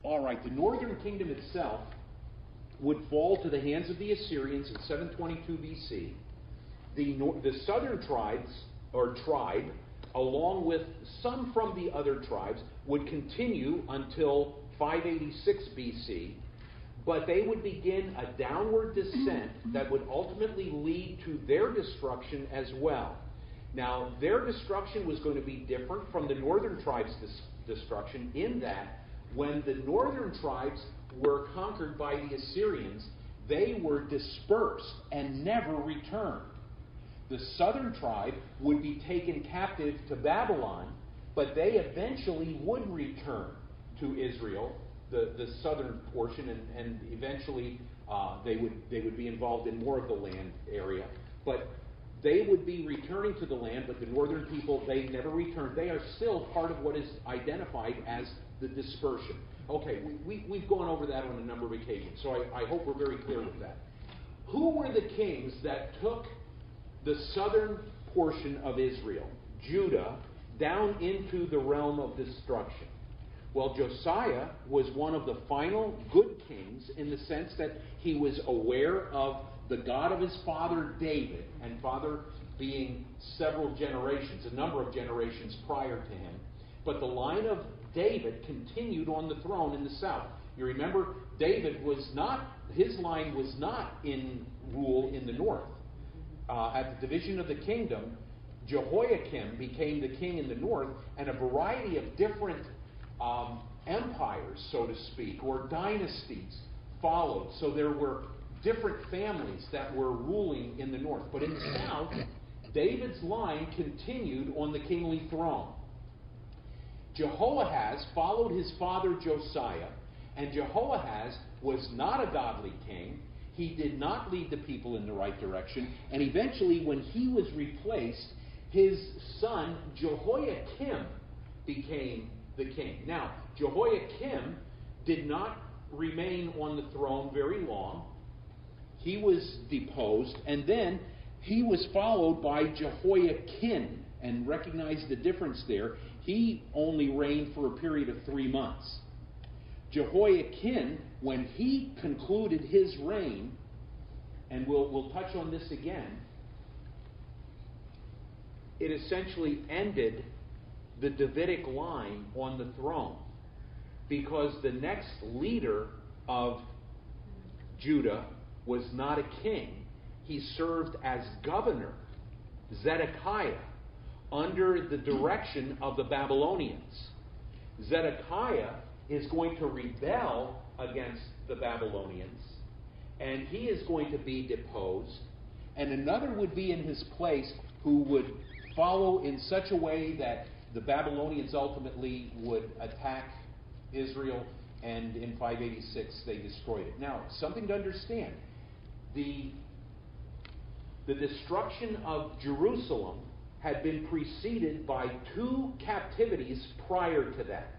All right, the northern kingdom itself would fall to the hands of the Assyrians in 722 BC. The southern tribes, or tribe, along with some from the other tribes, would continue until 586 BC, but they would begin a downward descent that would ultimately lead to their destruction as well. Now, their destruction was going to be different from the northern tribes' destruction in that when the northern tribes were conquered by the Assyrians, they were dispersed and never returned. The southern tribe would be taken captive to Babylon, but they eventually would return to Israel, the southern portion, and eventually they would be involved in more of the land area. But they would be returning to the land, but the northern people, they never returned. They are still part of what is identified as the dispersion. Okay, we've gone over that on a number of occasions, so I hope we're very clear with that. Who were the kings that took the southern portion of Israel, Judah, down into the realm of destruction? Well, Josiah was one of the final good kings in the sense that he was aware of the God of his father David, and father being several generations, a number of generations prior to him. But the line of David continued on the throne in the south. You remember, his line was not in rule in the north. At the division of the kingdom, Jehoiakim became the king in the north, and a variety of different empires, so to speak, or dynasties followed. So there were different families that were ruling in the north. But in the south, David's line continued on the kingly throne. Jehoahaz followed his father Josiah, and Jehoahaz was not a godly king. He did not lead the people in the right direction, and eventually when he was replaced, his son Jehoiakim became the king. Now, Jehoiakim did not remain on the throne very long. He was deposed, and then he was followed by Jehoiakim, and recognize the difference there. He only reigned for a period of 3 months. Jehoiakim, when he concluded his reign, and we'll touch on this again, it essentially ended the Davidic line on the throne, because the next leader of Judah was not a king. He served as governor, Zedekiah, under the direction of the Babylonians. Zedekiah is going to rebel against the Babylonians, and he is going to be deposed, and another would be in his place who would follow in such a way that the Babylonians ultimately would attack Israel, and in 586 they destroyed it. Now, something to understand. The destruction of Jerusalem had been preceded by 2 captivities prior to that.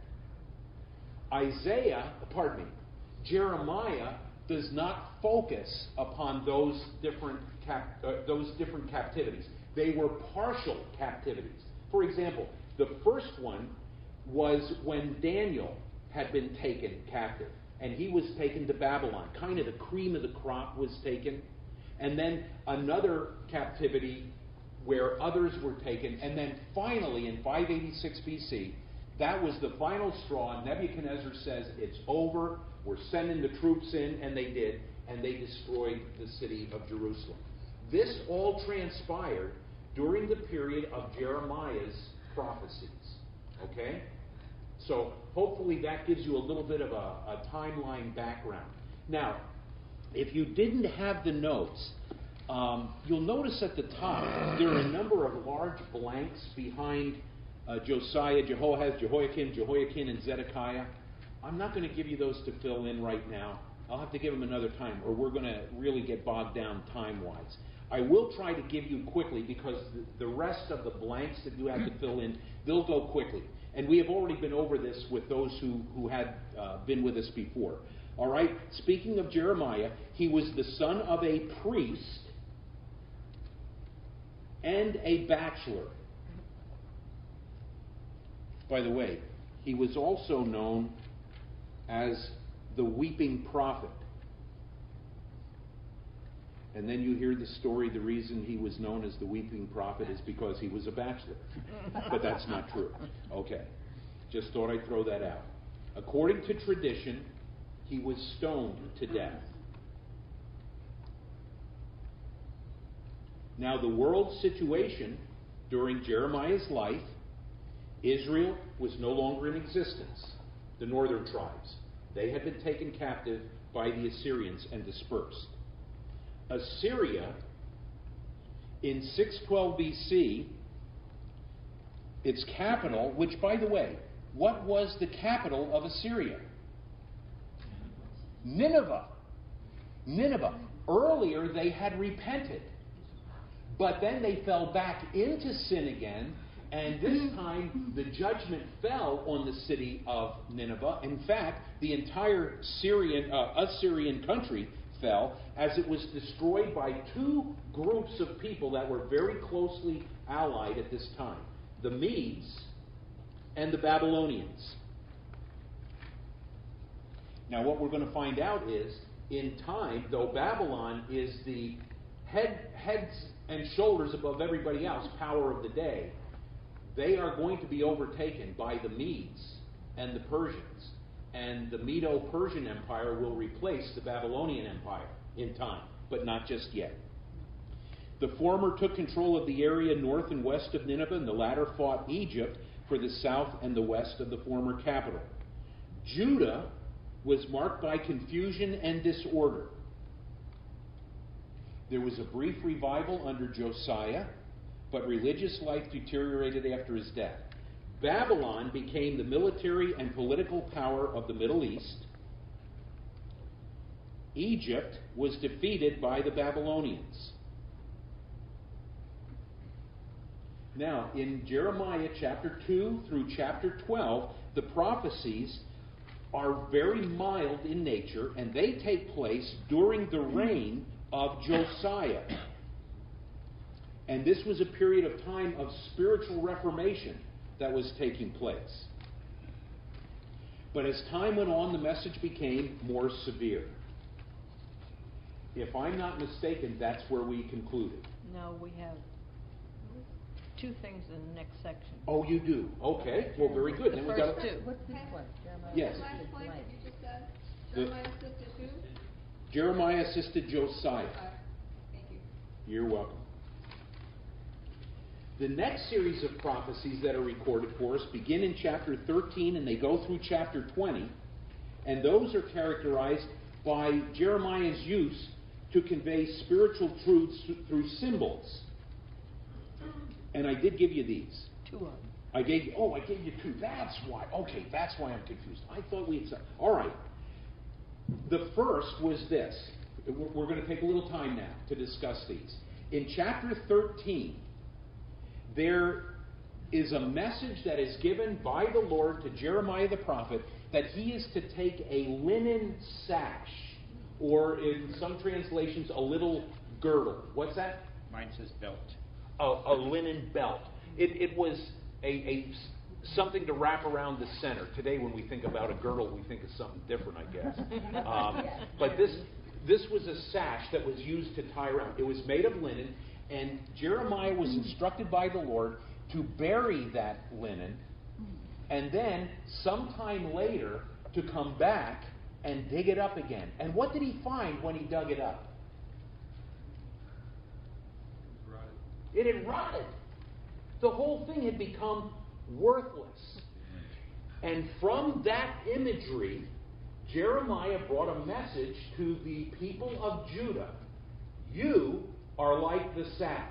Jeremiah does not focus upon those different captivities. They were partial captivities. For example, the first one was when Daniel had been taken captive, and he was taken to Babylon. Kind of the cream of the crop was taken. And then another captivity where others were taken. And then finally, in 586 BC, that was the final straw. Nebuchadnezzar says, it's over, we're sending the troops in, and they did, and they destroyed the city of Jerusalem. This all transpired during the period of Jeremiah's prophecies. Okay? So hopefully that gives you a little bit of a timeline background. Now, if you didn't have the notes, you'll notice at the top there are a number of large blanks behind Josiah, Jehoahaz, Jehoiakim, Jehoiakim, and Zedekiah. I'm not going to give you those to fill in right now. I'll have to give them another time, or we're going to really get bogged down time-wise. I will try to give you quickly, because the rest of the blanks that you have to fill in, they'll go quickly. And we have already been over this with those who had been with us before. All right? Speaking of Jeremiah, he was the son of a priest and a bachelor. By the way, he was also known as the weeping prophet. And then you hear the story, the reason he was known as the weeping prophet is because he was a bachelor. But that's not true. Okay. Just thought I'd throw that out. According to tradition, he was stoned to death. Now, the world situation during Jeremiah's life, Israel was no longer in existence. The northern tribes. They had been taken captive by the Assyrians and dispersed. Assyria, in 612 BC, its capital, which, by the way, what was the capital of Assyria? Nineveh. Nineveh. Earlier, they had repented. But then they fell back into sin again, and this time the judgment fell on the city of Nineveh. In fact, the entire Assyrian country fell as it was destroyed by two groups of people that were very closely allied at this time, the Medes and the Babylonians. Now what we're going to find out is, in time, though Babylon is the heads and shoulders above everybody else, power of the day, they are going to be overtaken by the Medes and the Persians. And the Medo-Persian Empire will replace the Babylonian Empire in time, but not just yet. The former took control of the area north and west of Nineveh, and the latter fought Egypt for the south and the west of the former capital. Judah was marked by confusion and disorder. There was a brief revival under Josiah, but religious life deteriorated after his death. Babylon became the military and political power of the Middle East. Egypt was defeated by the Babylonians. Now, in Jeremiah chapter 2 through chapter 12, the prophecies are very mild in nature, and they take place during the reign of Josiah. And this was a period of time of spiritual reformation that was taking place. But as time went on, the message became more severe. If I'm not mistaken, that's where we concluded. No, we have two things in the next section. Oh, you do? Okay. Well, very good. The Then first we got two. What's this one? Jeremiah. Yes. The last point that you just said? The- Jeremiah assisted who? Jeremiah assisted Josiah. Thank you. You're welcome. The next series of prophecies that are recorded for us begin in chapter 13 and they go through chapter 20. And those are characterized by Jeremiah's use to convey spiritual truths through symbols. And I did give you these. Two of them. I gave you two. That's why. Okay, that's why I'm confused. I thought we had said. All right. The first was this. We're going to take a little time now to discuss these. In chapter 13, there is a message that is given by the Lord to Jeremiah the prophet that he is to take a linen sash, or in some translations, a little girdle. What's that? Mine says belt. A linen belt. It was something to wrap around the center. Today, when we think about a girdle, we think of something different, I guess. But this was a sash that was used to tie around. It was made of linen, and Jeremiah was instructed by the Lord to bury that linen, and then sometime later to come back and dig it up again. And what did he find when he dug it up? It had rotted. The whole thing had become worthless. And from that imagery, Jeremiah brought a message to the people of Judah. You are like the sash.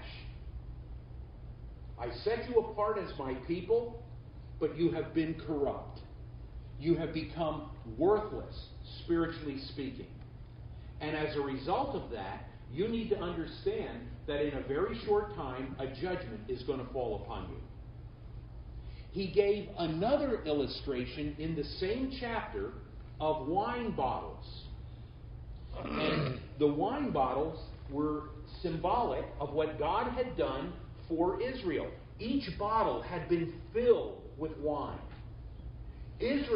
I set you apart as my people, but you have been corrupt. You have become worthless, spiritually speaking. And as a result of that, you need to understand that in a very short time, a judgment is going to fall upon you. He gave another illustration in the same chapter of wine bottles. And the wine bottles were symbolic of what God had done for Israel. Each bottle had been filled with wine. Israel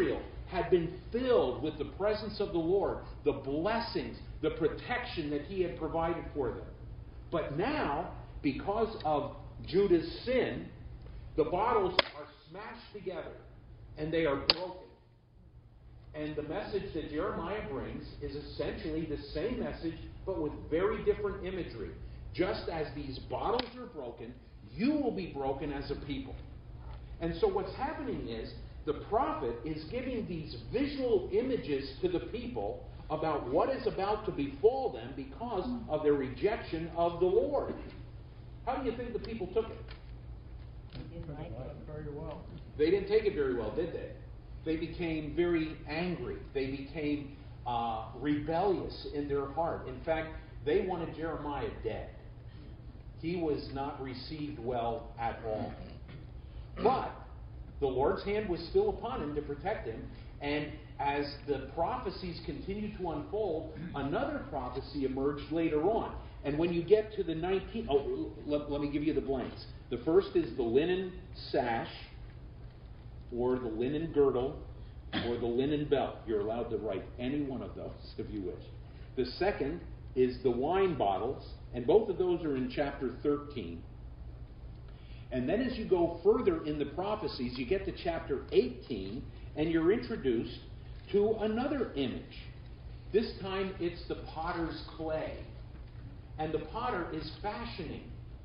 had been filled with the presence of the Lord, the blessings, the protection that He had provided for them. But now, because of Judah's sin, the bottles are smashed together and they are broken. And the message that Jeremiah brings is essentially the same message, but with very different imagery. Just as these bottles are broken, you will be broken as a people. And so what's happening is, the prophet is giving these visual images to the people about what is about to befall them because of their rejection of the Lord. How do you think the people took it? They didn't like it. Very well. They didn't take it very well, did they? They became very angry. They became rebellious in their heart. In fact, they wanted Jeremiah dead. He was not received well at all. But the Lord's hand was still upon him to protect him. And as the prophecies continued to unfold, another prophecy emerged later on. And when you get to the 19th... let me give you the blanks. The first is the linen sash, or the linen girdle, or the linen belt. You're allowed to write any one of those if you wish. The second is the wine bottles, and both of those are in chapter 13. And then as you go further in the prophecies, you get to chapter 18, and you're introduced to another image. This time it's the potter's clay. And the potter is fashioning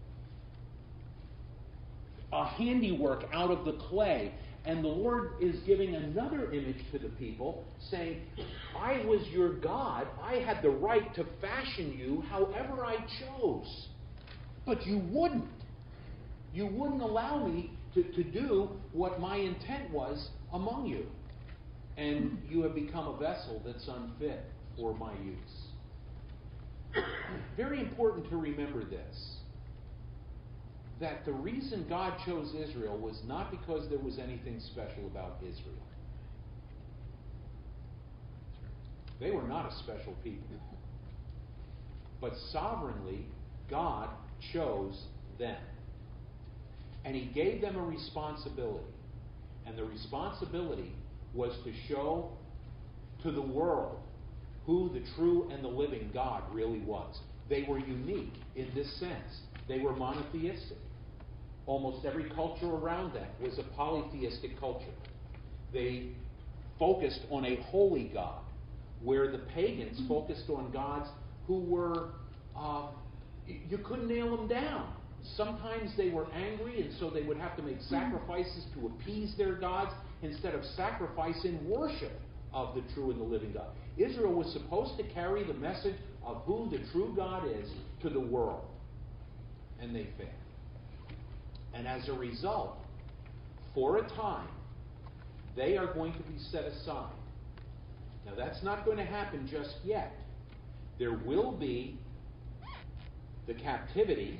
a handiwork out of the clay. And the Lord is giving another image to the people, saying, I was your God. I had the right to fashion you however I chose. But you wouldn't. You wouldn't allow me to do what my intent was among you. And you have become a vessel that's unfit for my use. Very important to remember this. That the reason God chose Israel was not because there was anything special about Israel. They were not a special people. But sovereignly, God chose them. And He gave them a responsibility. And the responsibility was to show to the world who the true and the living God really was. They were unique in this sense. They were monotheistic. Almost every culture around them was a polytheistic culture. They focused on a holy God, where the pagans focused on gods who were, you couldn't nail them down. Sometimes they were angry, and so they would have to make sacrifices to appease their gods instead of sacrificing worship of the true and the living God. Israel was supposed to carry the message of who the true God is to the world. And they failed. And as a result, for a time, they are going to be set aside. Now, that's not going to happen just yet. There will be the captivity,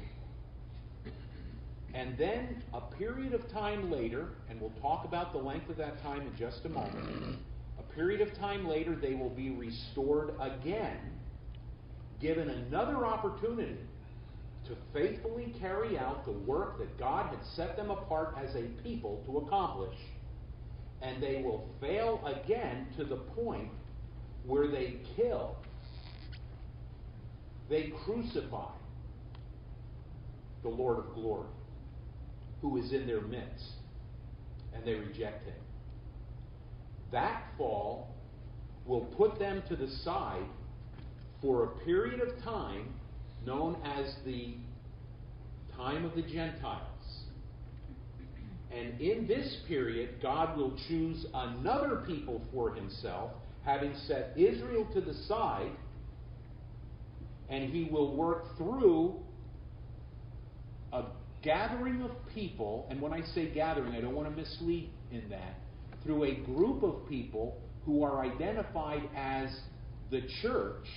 and then a period of time later, and we'll talk about the length of that time in just a moment, a period of time later, they will be restored again, given another opportunity to faithfully carry out the work that God had set them apart as a people to accomplish. And they will fail again to the point where they kill, they crucify the Lord of glory, who is in their midst, and they reject Him. That fall will put them to the side for a period of time known as the time of the Gentiles. And in this period, God will choose another people for Himself, having set Israel to the side, and He will work through a gathering of people, and when I say gathering, I don't want to mislead in that, through a group of people who are identified as the church,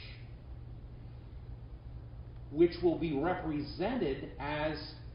which will be represented as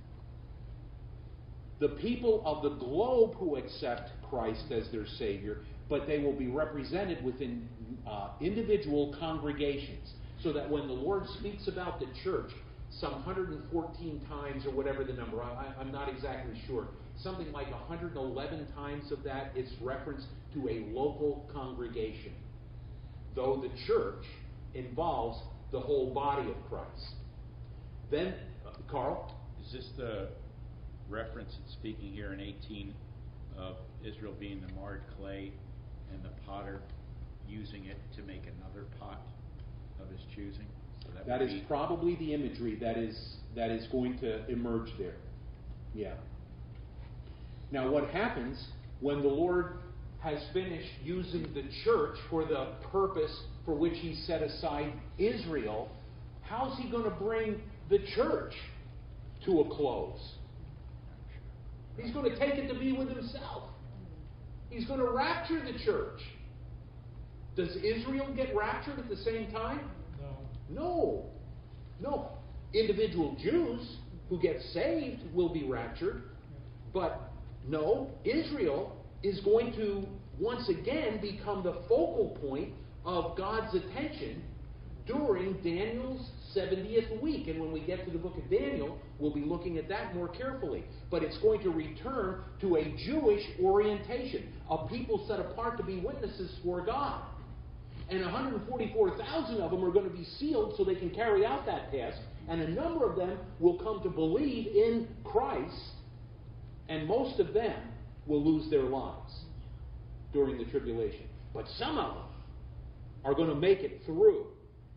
the people of the globe who accept Christ as their Savior, but they will be represented within individual congregations, so that when the Lord speaks about the church, some 114 times, or whatever the number, I'm not exactly sure. Something like 111 times of that is referenced to a local congregation, though the church involves the whole body of Christ. Then, Carl? Is this the reference it's speaking here in 18 of Israel being the marred clay and the potter using it to make another pot of his choosing? So that is probably the imagery that is going to emerge there. Yeah. Now, what happens when the Lord has finished using the church for the purpose for which He set aside Israel? How's He going to bring the church to a close? He's going to take it to be with Himself. He's going to rapture the church. Does Israel get raptured at the same time? No. No. Individual Jews who get saved will be raptured. But no, Israel is going to once again become the focal point of God's attention during Daniel's 70th week. And when we get to the book of Daniel, we'll be looking at that more carefully. But it's going to return to a Jewish orientation, a people set apart to be witnesses for God. And 144,000 of them are going to be sealed so they can carry out that task. And a number of them will come to believe in Christ. And most of them will lose their lives during the tribulation. But some of them are going to make it through,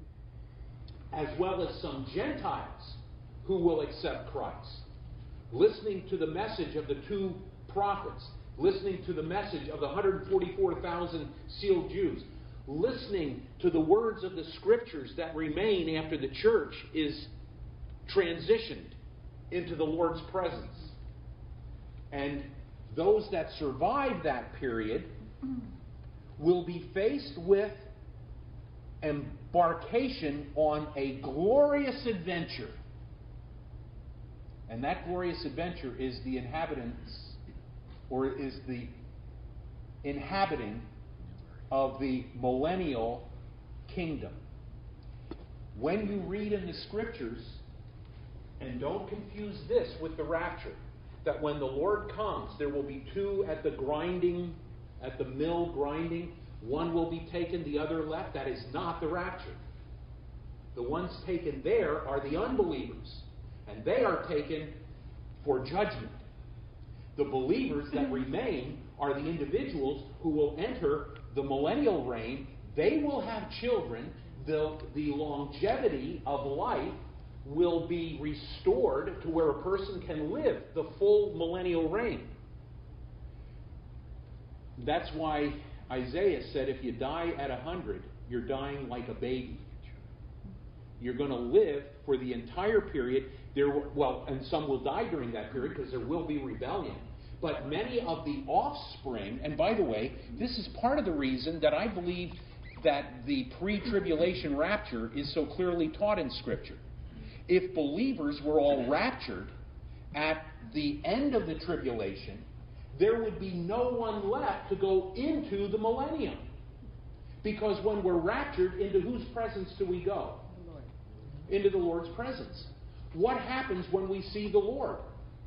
as well as some Gentiles who will accept Christ, listening to the message of the two prophets, listening to the message of the 144,000 sealed Jews, listening to the words of the Scriptures that remain after the church is transitioned into the Lord's presence. And those that survive that period will be faced with embarkation on a glorious adventure. And that glorious adventure is the inhabitants, or is the inhabiting of the millennial kingdom. When you read in the Scriptures, and don't confuse this with the rapture, that when the Lord comes, there will be two at the mill grinding. One will be taken, the other left. That is not the rapture. The ones taken there are the unbelievers, and they are taken for judgment. The believers that remain are the individuals who will enter the millennial reign. They will have children. The longevity of life will be restored to where a person can live the full millennial reign. That's why Isaiah said, if you die at 100, you're dying like a baby. You're going to live for the entire period. And some will die during that period because there will be rebellion. But many of the offspring, and by the way, this is part of the reason that I believe that the pre-tribulation rapture is so clearly taught in Scripture. If believers were all raptured at the end of the tribulation, there would be no one left to go into the millennium. Because when we're raptured, into whose presence do we go? Into the Lord's presence. What happens when we see the Lord?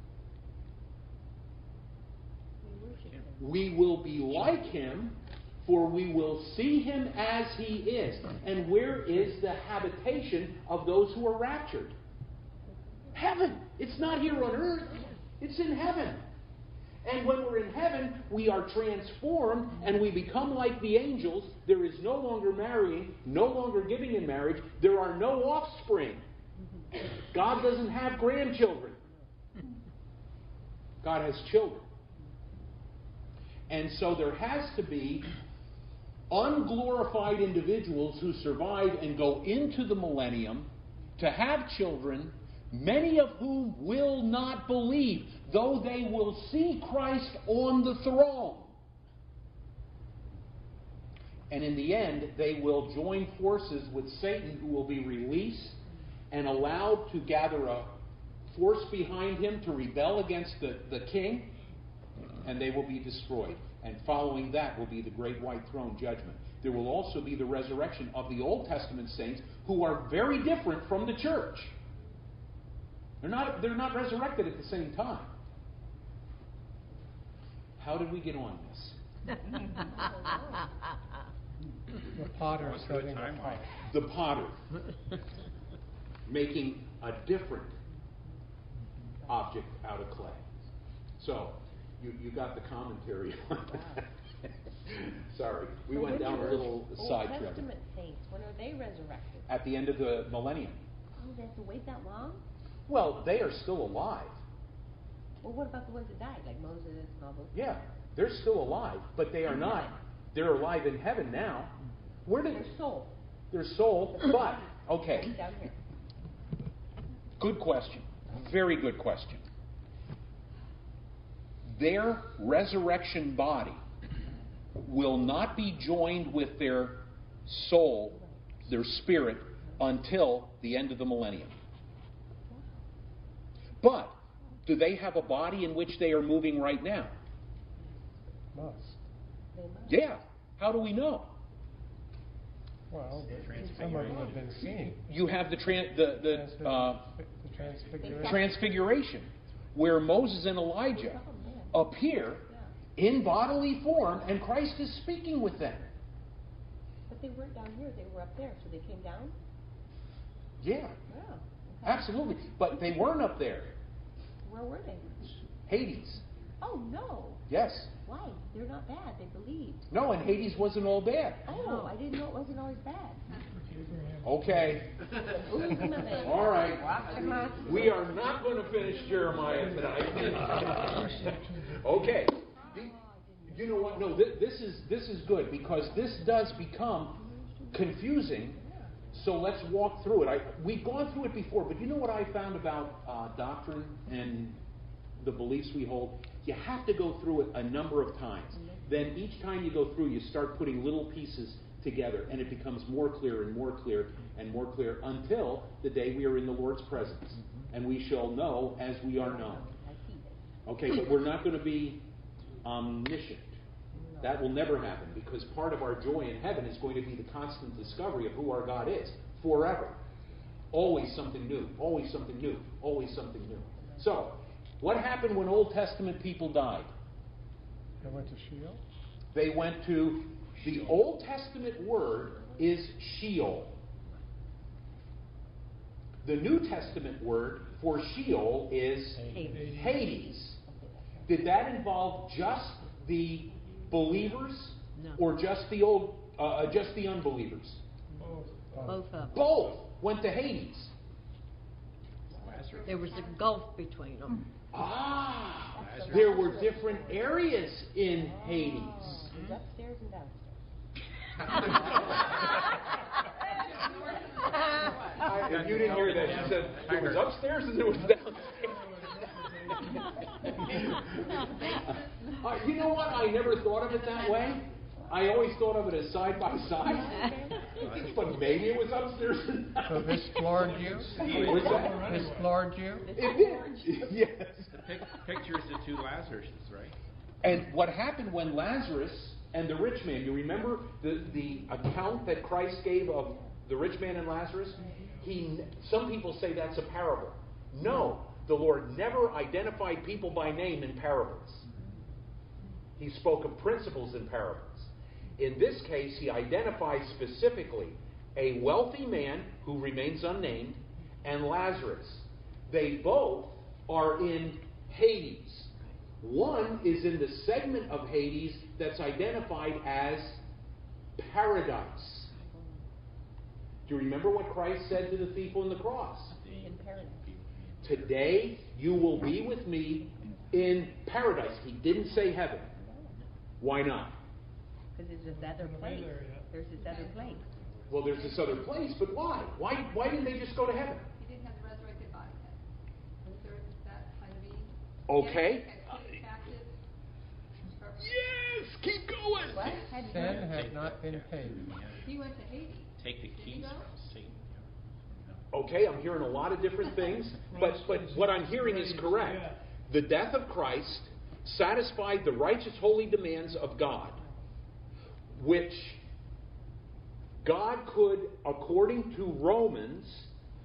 We will be like Him, for we will see Him as He is. And where is the habitation of those who are raptured? Heaven. It's not here on earth. It's in heaven. And when we're in heaven, we are transformed and we become like the angels. There is no longer marrying, no longer giving in marriage. There are no offspring. God doesn't have grandchildren. God has children. And so there has to be unglorified individuals who survive and go into the millennium to have children, many of whom will not believe, though they will see Christ on the throne. And in the end, they will join forces with Satan, who will be released and allowed to gather a force behind him to rebel against the king, and they will be destroyed. And following that will be the great white throne judgment. There will also be the resurrection of the Old Testament saints, who are very different from the church. They're not resurrected at the same time. How did we get on this? The potter Going through a setting the timeline. pot. The potter making a different object out of clay. So, you got the commentary on that. Sorry, we So went when down do a little those side Old trail. Testament saints, when are they resurrected? At the end of the millennium. Oh, they have to wait that long? Well, they are still alive. Well, what about the ones that died, like Moses and all those? Yeah, they're still alive, but they are In not. heaven. They're alive in heaven now. Where did Their soul. their soul? But okay, Down here. good question. Very good question. Their resurrection body will not be joined with their soul, their spirit, until the end of the millennium. But do they have a body in which they are moving right now? Must. They must. Yeah. How do we know? Well, some of them have been seen. You have the The transfiguration. transfiguration, where Moses and Elijah appear in bodily form, and Christ is speaking with them. But they weren't down here, they were up there, so they came down? Yeah, Wow. Okay. absolutely. But they weren't up there. Where were they? Hades. Oh, no. Yes. Why? They're not bad, they believed. No, and Hades wasn't all bad. Oh, I didn't know it wasn't always bad. Okay. All right. We are not going to finish Jeremiah tonight. Okay. You know what? No, this is good, because this does become confusing. So let's walk through it. We've gone through it before, but you know what I found about doctrine and the beliefs we hold? You have to go through it a number of times. Then each time you go through, you start putting little pieces together, and it becomes more clear and more clear and more clear until the day we are in the Lord's presence, and we shall know as we are known. Okay, but we're not going to be omniscient. That will never happen, because part of our joy in heaven is going to be the constant discovery of who our God is forever. Always something new, always something new, always something new. So, what happened when Old Testament people died? They went to Sheol. They went to, the Old Testament word is Sheol. The New Testament word for Sheol is Hades. Did that involve just the believers, No. or just the just the unbelievers? Both of them. Both went to Hades. Lazarus. There was a gulf between them. Ah, there were different areas in Hades. It was upstairs and downstairs. If you didn't hear that, she said it was upstairs and it was downstairs. You know what? I never thought of it that way. I always thought of it as side by side. But maybe it was upstairs and So downstairs. this floored you? What's that? This floored you? It did. Yes. The picture is the two Lazaruses, right? And what happened when Lazarus and the rich man, you remember the account that Christ gave of the rich man and Lazarus? Some people say that's a parable. No, the Lord never identified people by name in parables. He spoke of principles in parables. In this case, he identifies specifically a wealthy man who remains unnamed and Lazarus. They both are in Hades. One is in the segment of Hades that's identified as paradise. Do you remember what Christ said to the thief on the cross? In paradise. Today you will be with me in paradise. He didn't say heaven. Why not? Because there's this other place. There's this other place. Well, there's this other place, but why? Why didn't they just go to heaven? He didn't have the resurrected body yet. Was there that kind of being? Okay. Yes, captive. Yes, keep going. What? Had you Sin had not been paid. He went to Hades. Take the keys go? from Satan. No. Okay, I'm hearing a lot of different things, but what I'm hearing is correct. The death of Christ satisfied the righteous, holy demands of God, which God could, according to Romans,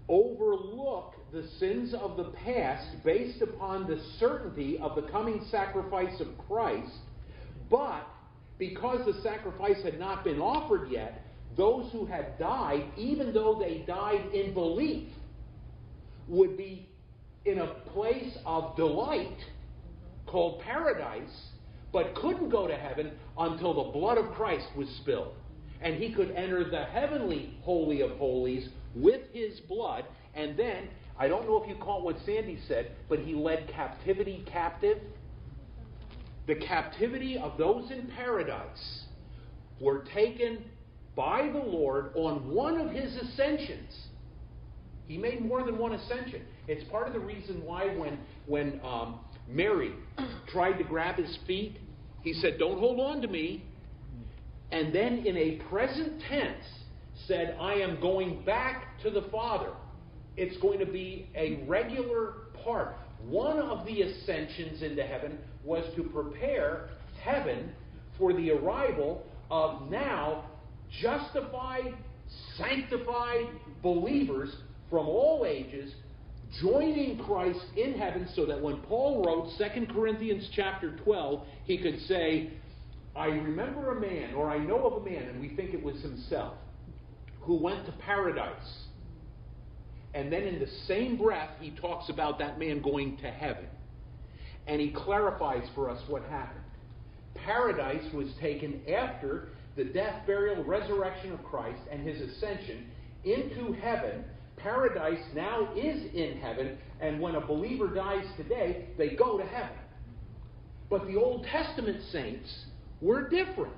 overlook the sins of the past based upon the certainty of the coming sacrifice of Christ, but because the sacrifice had not been offered yet, those who had died, even though they died in belief, would be in a place of delight called paradise, but couldn't go to heaven until the blood of Christ was spilled. And he could enter the heavenly Holy of Holies with his blood, and then, I don't know if you caught what Sandy said, but he led captivity captive. The captivity of those in paradise were taken by the Lord on one of his ascensions. He made more than one ascension. It's part of the reason why when Mary tried to grab his feet, he said, "Don't hold on to me." And then in a present tense said, "I am going back to the Father." It's going to be a regular part. One of the ascensions into heaven was to prepare heaven for the arrival of now justified, sanctified believers from all ages joining Christ in heaven, so that when Paul wrote 2 Corinthians chapter 12, he could say, "I remember a man," or "I know of a man," and we think it was himself, "who went to paradise." And then in the same breath, he talks about that man going to heaven. And he clarifies for us what happened. Paradise was taken after the death, burial, resurrection of Christ and his ascension into heaven. Paradise now is in heaven, and when a believer dies today, they go to heaven. But the Old Testament saints were different.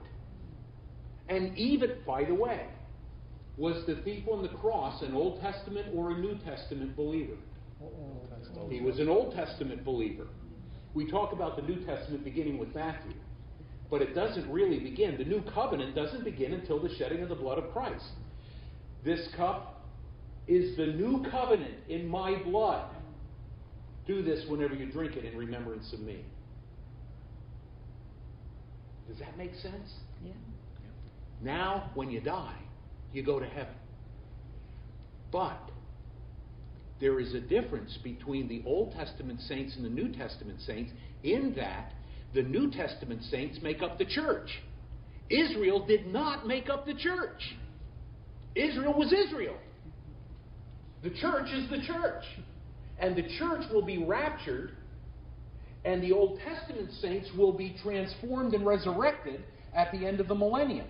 And even, by the way, was the thief on the cross an Old Testament or a New Testament believer? He was an Old Testament believer. We talk about the New Testament beginning with Matthew, but it doesn't really begin. The New Covenant doesn't begin until the shedding of the blood of Christ. This cup is the new covenant in my blood. Do this whenever you drink it in remembrance of me. Does that make sense? Yeah. Now, when you die, you go to heaven. But there is a difference between the Old Testament saints and the New Testament saints in that the New Testament saints make up the church. Israel did not make up the church. Israel was Israel. The church is the church. And the church will be raptured, and the Old Testament saints will be transformed and resurrected at the end of the millennium.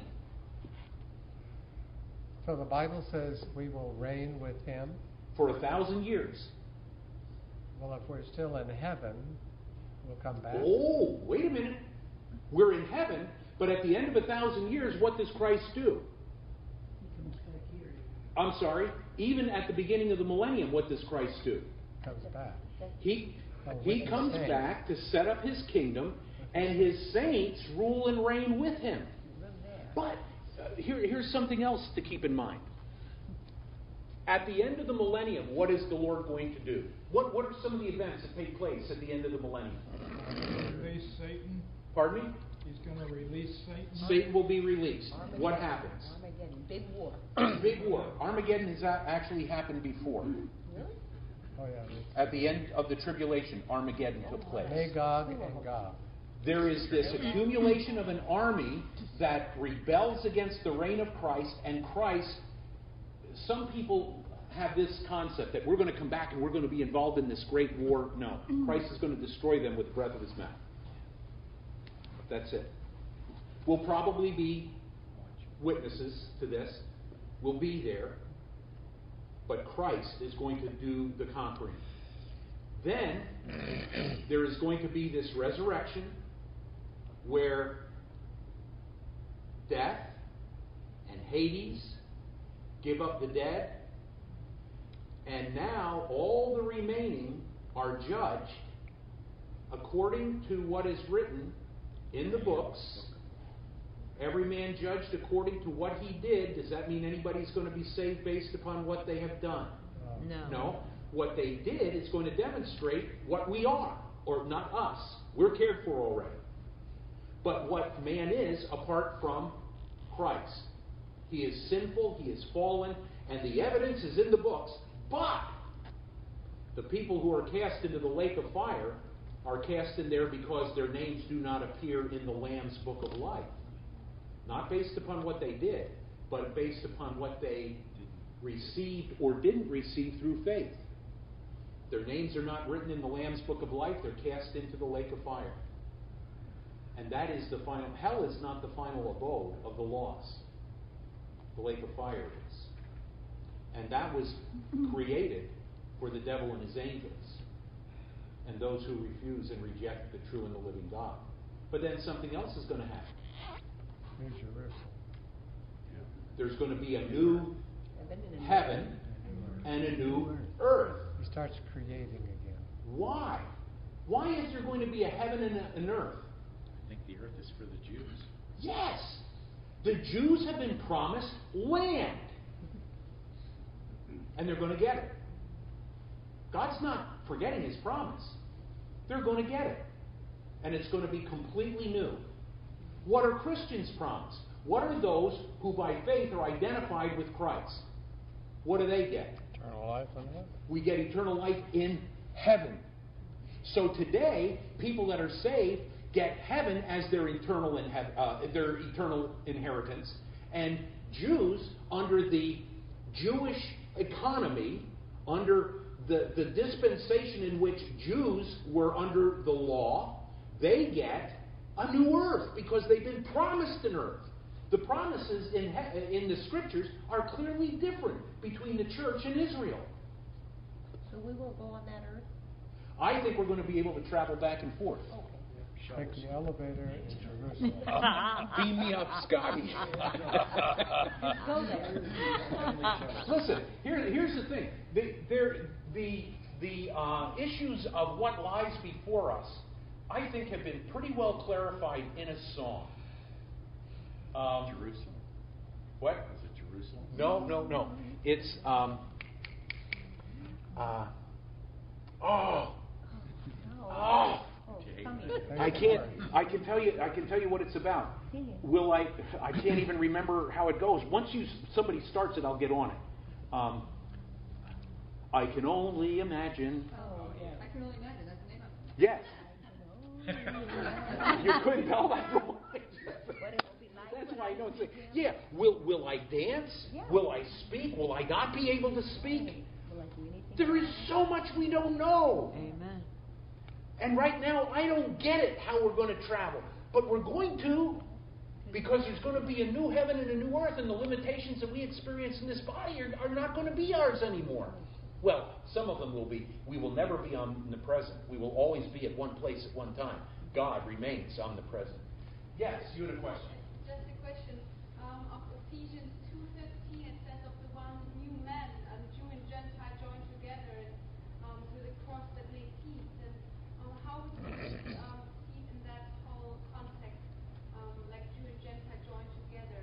So the Bible says we will reign with him. For 1,000 years. Well, if we're still in heaven, we'll come back. Oh, wait a minute. We're in heaven, but at the end of 1,000 years, what does Christ do? I'm sorry. Even at the beginning of the millennium, what does Christ do? Comes back. He comes back to set up his kingdom, and his saints rule and reign with him. But here's something else to keep in mind. At the end of the millennium, what is the Lord going to do? What are some of the events that take place at the end of the millennium? Release Satan. Pardon me? He's going to release Satan. Satan will be released. Armageddon. What happens? Armageddon. Big war. Big war. Armageddon has actually happened before. Really? Oh, yeah. At the end of the tribulation, Armageddon took place. Magog and Gog. There is this accumulation of an army that rebels against the reign of Christ, and Christ, some people have this concept that we're going to come back and we're going to be involved in this great war. No. Christ is going to destroy them with the breath of his mouth. That's it. We'll probably be witnesses to this. We'll be there. But Christ is going to do the conquering. Then, there is going to be this resurrection where death and Hades give up the dead, and now all the remaining are judged according to what is written in the books. Every man judged according to what he did. Does that mean anybody's going to be saved based upon what they have done? No. No. What they did is going to demonstrate what we are, or not us. We're cared for already. But what man is apart from Christ. He is sinful, he is fallen, and the evidence is in the books. But the people who are cast into the lake of fire are cast in there because their names do not appear in the Lamb's book of life. Not based upon what they did, but based upon what they received or didn't receive through faith. Their names are not written in the Lamb's book of life. They're cast into the lake of fire. And that is the final. Hell is not the final abode of the lost. The lake of fire is. And that was created for the devil and his angels and those who refuse and reject the true and the living God. But then something else is going to happen. New Jerusalem. There's going to be a new heaven and a new earth. He starts creating again. Why? Why is there going to be a heaven and an earth? I think the earth is for the Jews. Yes. The Jews have been promised land. And they're going to get it. God's not forgetting his promise. They're going to get it. And it's going to be completely new. What are Christians promised? What are those who by faith are identified with Christ? What do they get? Eternal life in heaven. We get eternal life in heaven. So today, people that are saved get heaven as their eternal inheritance, and Jews, under the Jewish economy, under the dispensation in which Jews were under the law, they get a new earth because they've been promised an earth. The promises in the Scriptures are clearly different between the church and Israel. So we won't go on that earth? I think we're going to be able to travel back and forth. Take the elevator in Jerusalem. Beam me up, Scotty. Go there. Listen, here's the thing. The issues of what lies before us, I think, have been pretty well clarified in a song. Jerusalem? What? Was it Jerusalem? No. It's I can tell you what it's about. I can't even remember how it goes. Once somebody starts it, I'll get on it. I can only imagine. I can only imagine. That's the name of it. Yes. You couldn't tell that from That's why I know it's like, yeah. Will I dance? Yeah. Will I speak? Will I not be able to speak? Will I do anything? There is so much we don't know. Amen. And right now, I don't get it how we're going to travel. But we're going to, because there's going to be a new heaven and a new earth, and the limitations that we experience in this body are not going to be ours anymore. Well, some of them will be. We will never be omnipresent. We will always be at one place at one time. God remains omnipresent. Yes, you had a question. Just a question. Of Ephesians 2:15, it says of the one new man, Jew and Gentile joined together, and with a cross that made peace. And how would you see in that whole context, like Jew and Gentile joined together?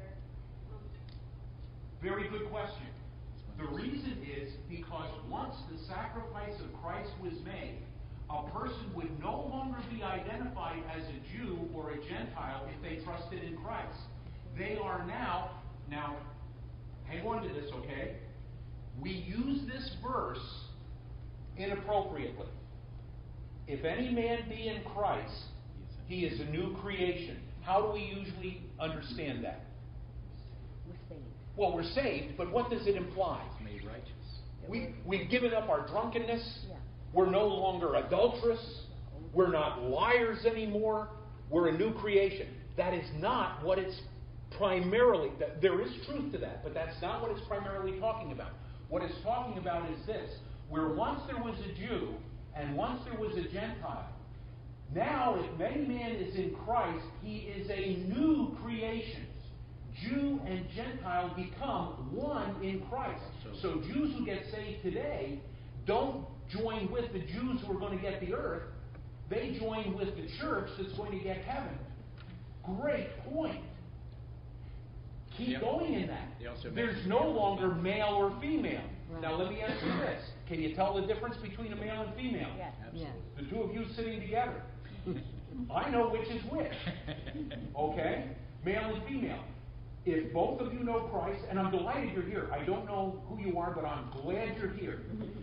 Very good question. The reason is because once the sacrifice of Christ was made, a person would no longer be identified as a Jew or a Gentile if they trusted in Christ. They are now, hang on to this, okay? We use this verse inappropriately. If any man be in Christ, he is a new creation. How do we usually understand that? We're saved. Well, we're saved, but what does it imply? Made righteous. We've given up our drunkenness. Yeah. We're no longer adulterous. We're not liars anymore. We're a new creation. That is not what it's primarily. There is truth to that, but that's not what it's primarily talking about. What it's talking about is this: where once there was a Jew and once there was a Gentile, now if any man is in Christ, he is a new creation. Jew and Gentile become one in Christ. So Jews who get saved today don't join with the Jews who are going to get the earth. They join with the church that's going to get heaven. Great point. Keep going in that. There's no longer male or female. Right. Now let me ask you this. Can you tell the difference between a male and female? Yes. Yes. The two of you sitting together. I know which is which. Okay? Male and female. if both of you know Christ, and I'm delighted you're here. I don't know who you are, but I'm glad you're here.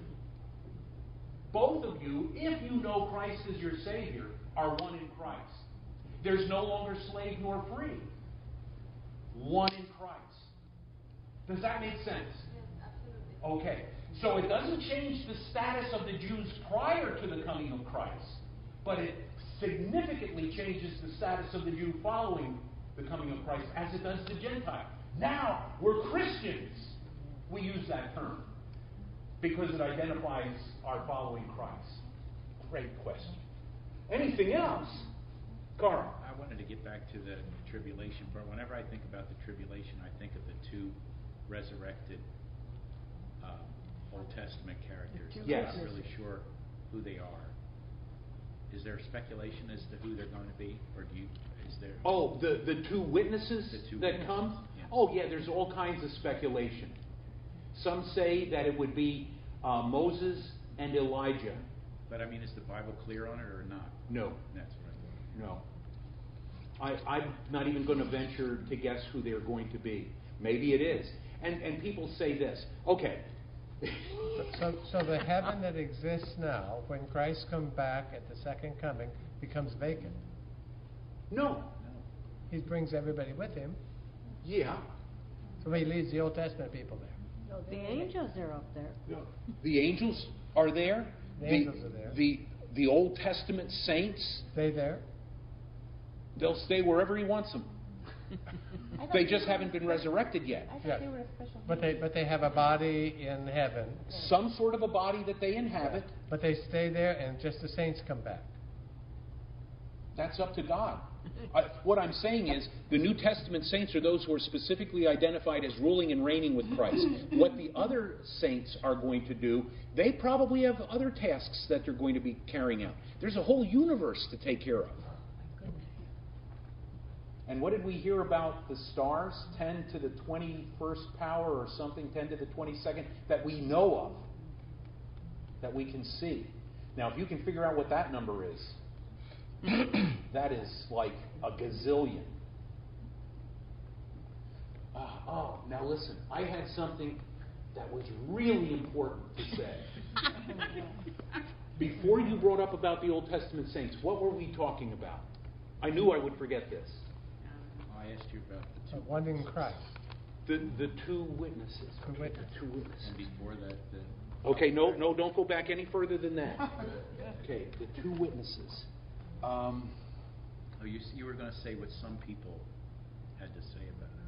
Both of you, if you know Christ as your Savior, are one in Christ. There's no longer slave nor free. One in Christ. Does that make sense? Yes, absolutely. Okay. So it doesn't change the status of the Jews prior to the coming of Christ, but it significantly changes the status of the Jew following the coming of Christ, as it does the Gentile. Now, we're Christians. We use that term because it identifies our following Christ. Great question. Anything else? Carl? I wanted to get back to the tribulation part. Whenever I think about the tribulation, I think of the two resurrected Old Testament characters. Yes. I'm not really sure who they are. Is there speculation as to who they're going to be, or is there? Oh, the two witnesses The two that witnesses, come? yeah. Oh, yeah, there's all kinds of speculation. Some say that it would be Moses and Elijah. But I mean, is the Bible clear on it or not? No, That's what I thought. no. I'm not even going to venture to guess who they're going to be. Maybe it is. And people say this. Okay. So the heaven that exists now, when Christ comes back at the second coming, becomes vacant. No. He brings everybody with him, Yeah. so he leaves the Old Testament people there. The angels are up there. The angels are there. The angels are there. The Old Testament saints, Stay there. they'll stay wherever he wants them. I thought They just haven't been resurrected yet. I thought Yeah. they were a special. But they have a body in heaven, Some sort of a body that they inhabit. but they stay there, and just the saints come back. That's up to God. What I'm saying is, the New Testament saints are those who are specifically identified as ruling and reigning with Christ. What the other saints are going to do, they probably have other tasks that they're going to be carrying out. There's a whole universe to take care of. And what did we hear about the stars? 10 to the 21st power or something, 10 to the 22nd, that we know of, that we can see. Now, if you can figure out what that number is, that is like a gazillion. Now listen, I had something that was really important to say. Before you brought up about the Old Testament saints, what were we talking about? I knew I would forget this. I asked you about the two. One in Christ. The two witnesses. Two witnesses. Two witnesses. And before that, Okay, no, don't go back any further than that. Okay, the two witnesses. oh, you were going to say what some people had to say about it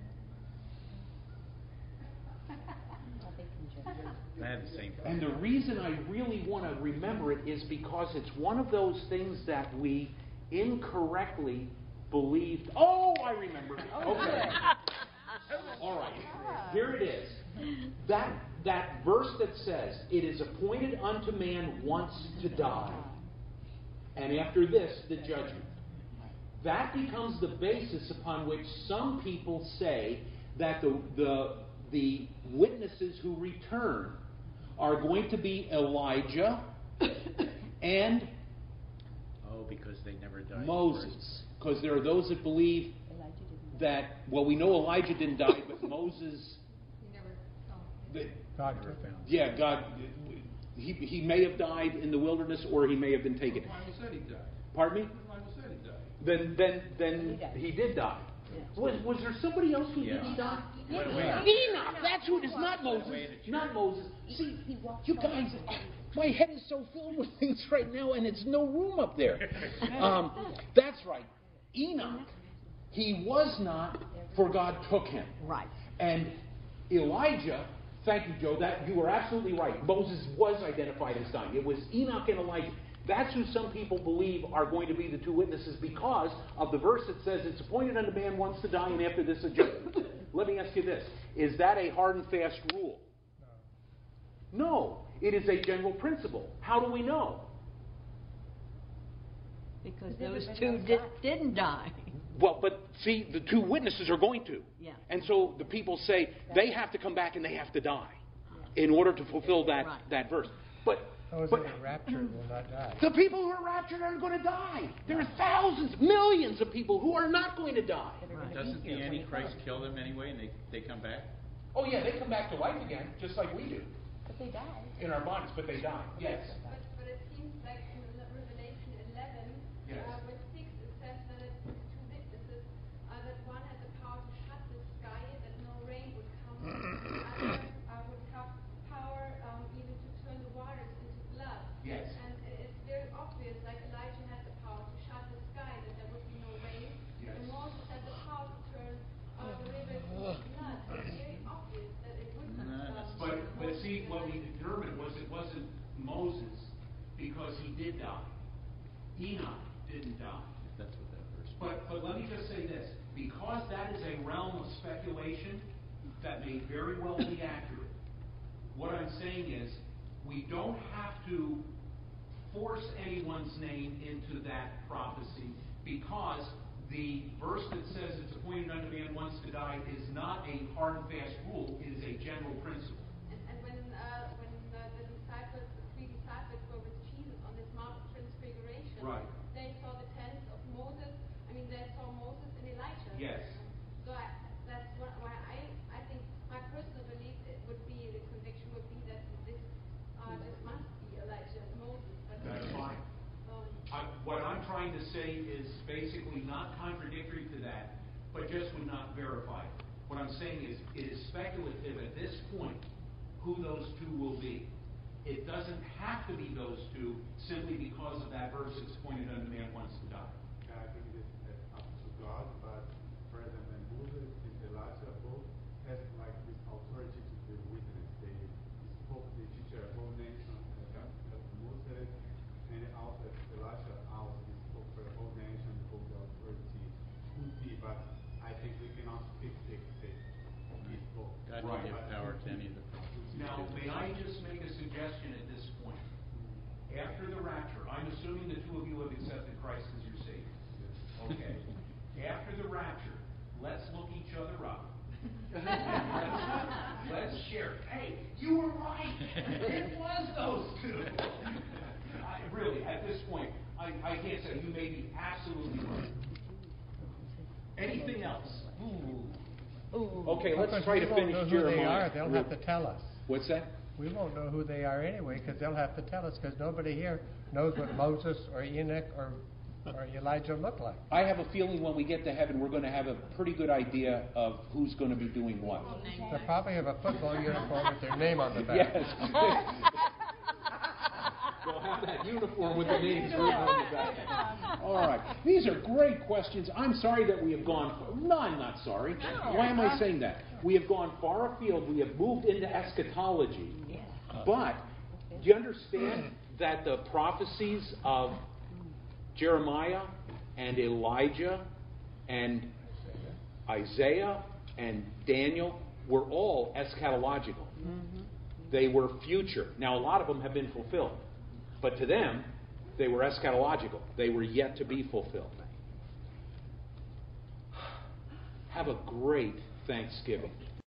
or something. I had the same And problem. the reason I really want to remember it is because it's one of those things that we incorrectly believed. Oh, I remember. Okay. All right. Here it is. That verse that says, "It is appointed unto man once to die, and after this the judgment." That becomes the basis upon which some people say that the witnesses who return are going to be Elijah and Oh, because they never died. Moses. Because there are those that believe that, well, we know Elijah didn't die, but Moses, You never saw. God Never took him. found. yeah, God, he may have died in the wilderness or he may have been taken. Elijah said he died. Pardon me? Elijah said he died. Then he did die. Was there somebody else who Yeah. didn't die? Wait. Enoch. That's who it is. Not Moses. Not Moses. See, you guys, my head is so filled with things right now, and it's no room up there. That's right. Enoch. He was not, for God took him. Right. And Elijah. Thank you, Joe. That you were absolutely right. Moses was identified as dying. It was Enoch and Elijah. That's who some people believe are going to be the two witnesses because of the verse that says it's appointed unto man once to die and after this a judgment. Let me ask you this. Is that a hard and fast rule? No. It is a general principle. How do we know? Because those two didn't die. Well, but see, the two witnesses are going to. Yeah. And so the people say they have to come back and they have to die in order to fulfill that, Right. that verse. But Those But- that are raptured will not die. The people who are raptured aren't going to die. There are thousands, millions of people who are not going to die. Doesn't the Antichrist kill them anyway and they come back? Oh yeah, they come back to life again, just like we do But they die. in our bodies, but they die. Yes. But it seems like in Revelation 11, Yes. verse 6, it says that it's two witnesses, that one had the power to shut the sky, that no rain would come, the other would have power even to turn the waters into blood. Yes. And it's very obvious, like Elijah had the power to shut the sky, that there would be no rain. Yes. And Moses had the power to turn the rivers into blood. It's very obvious that it wouldn't. But see, what we determined was it wasn't Moses because he did die. Enoch didn't die. If that's what that verse means. But let me just say this, because that is a realm of speculation that may very well be accurate. What I'm saying is, we don't have to force anyone's name into that prophecy, because the verse that says it's appointed unto man once to die is not a hard and fast rule, it is a general principle. And when the disciples, the three disciples were with Jesus on this Mount of Transfiguration, Right. they saw the tents of Moses. I mean, they saw Moses and Elijah. Yes. So that's why I think my personal belief it would be, the conviction would be that this must be Elijah and Moses. But That's fine. What I'm trying to say is basically not contradictory to that, but just would not verify it. What I'm saying is, it is speculative at this point who those two will be. It doesn't have to be those two simply because of that verse that's pointed unto man once to die. I think it is up to God, but President Moses and Elijah both have like this authority to be witness. They spoke, they teach a whole nation, as Moses, and also Elijah also spoke for the whole nation, hold the authority to be. But I think we cannot fix it. He spoke. God Right. can give power to any of the prophets. Now, may I just make a suggestion at this point? After the rapture, I'm assuming the two of you have accepted Christ as your Savior. Okay. After the rapture, let's look each other up. Let's share. Hey, you were right. It was those two. Really, at this point, I can't say. You may be absolutely right. Anything else? Okay, let's Because try we to won't finish know who Jeremiah. they are. They'll have to tell us. What's that? We won't know who they are anyway, because they'll have to tell us, because nobody here knows what Moses or Enoch or Elijah look like. I have a feeling when we get to heaven, we're going to have a pretty good idea of who's going to be doing what. They'll probably have a football uniform with their name on the back. Yes. We'll have that uniform with the names written on the back. All right. These are great questions. I'm sorry that we have gone... No, I'm not sorry. Why am I saying that? We have gone far afield. We have moved into eschatology. But do you understand that the prophecies of Jeremiah and Elijah and Isaiah and Daniel were all eschatological? They were future. Now, a lot of them have been fulfilled. But to them, they were eschatological. They were yet to be fulfilled. Have a great Thanksgiving.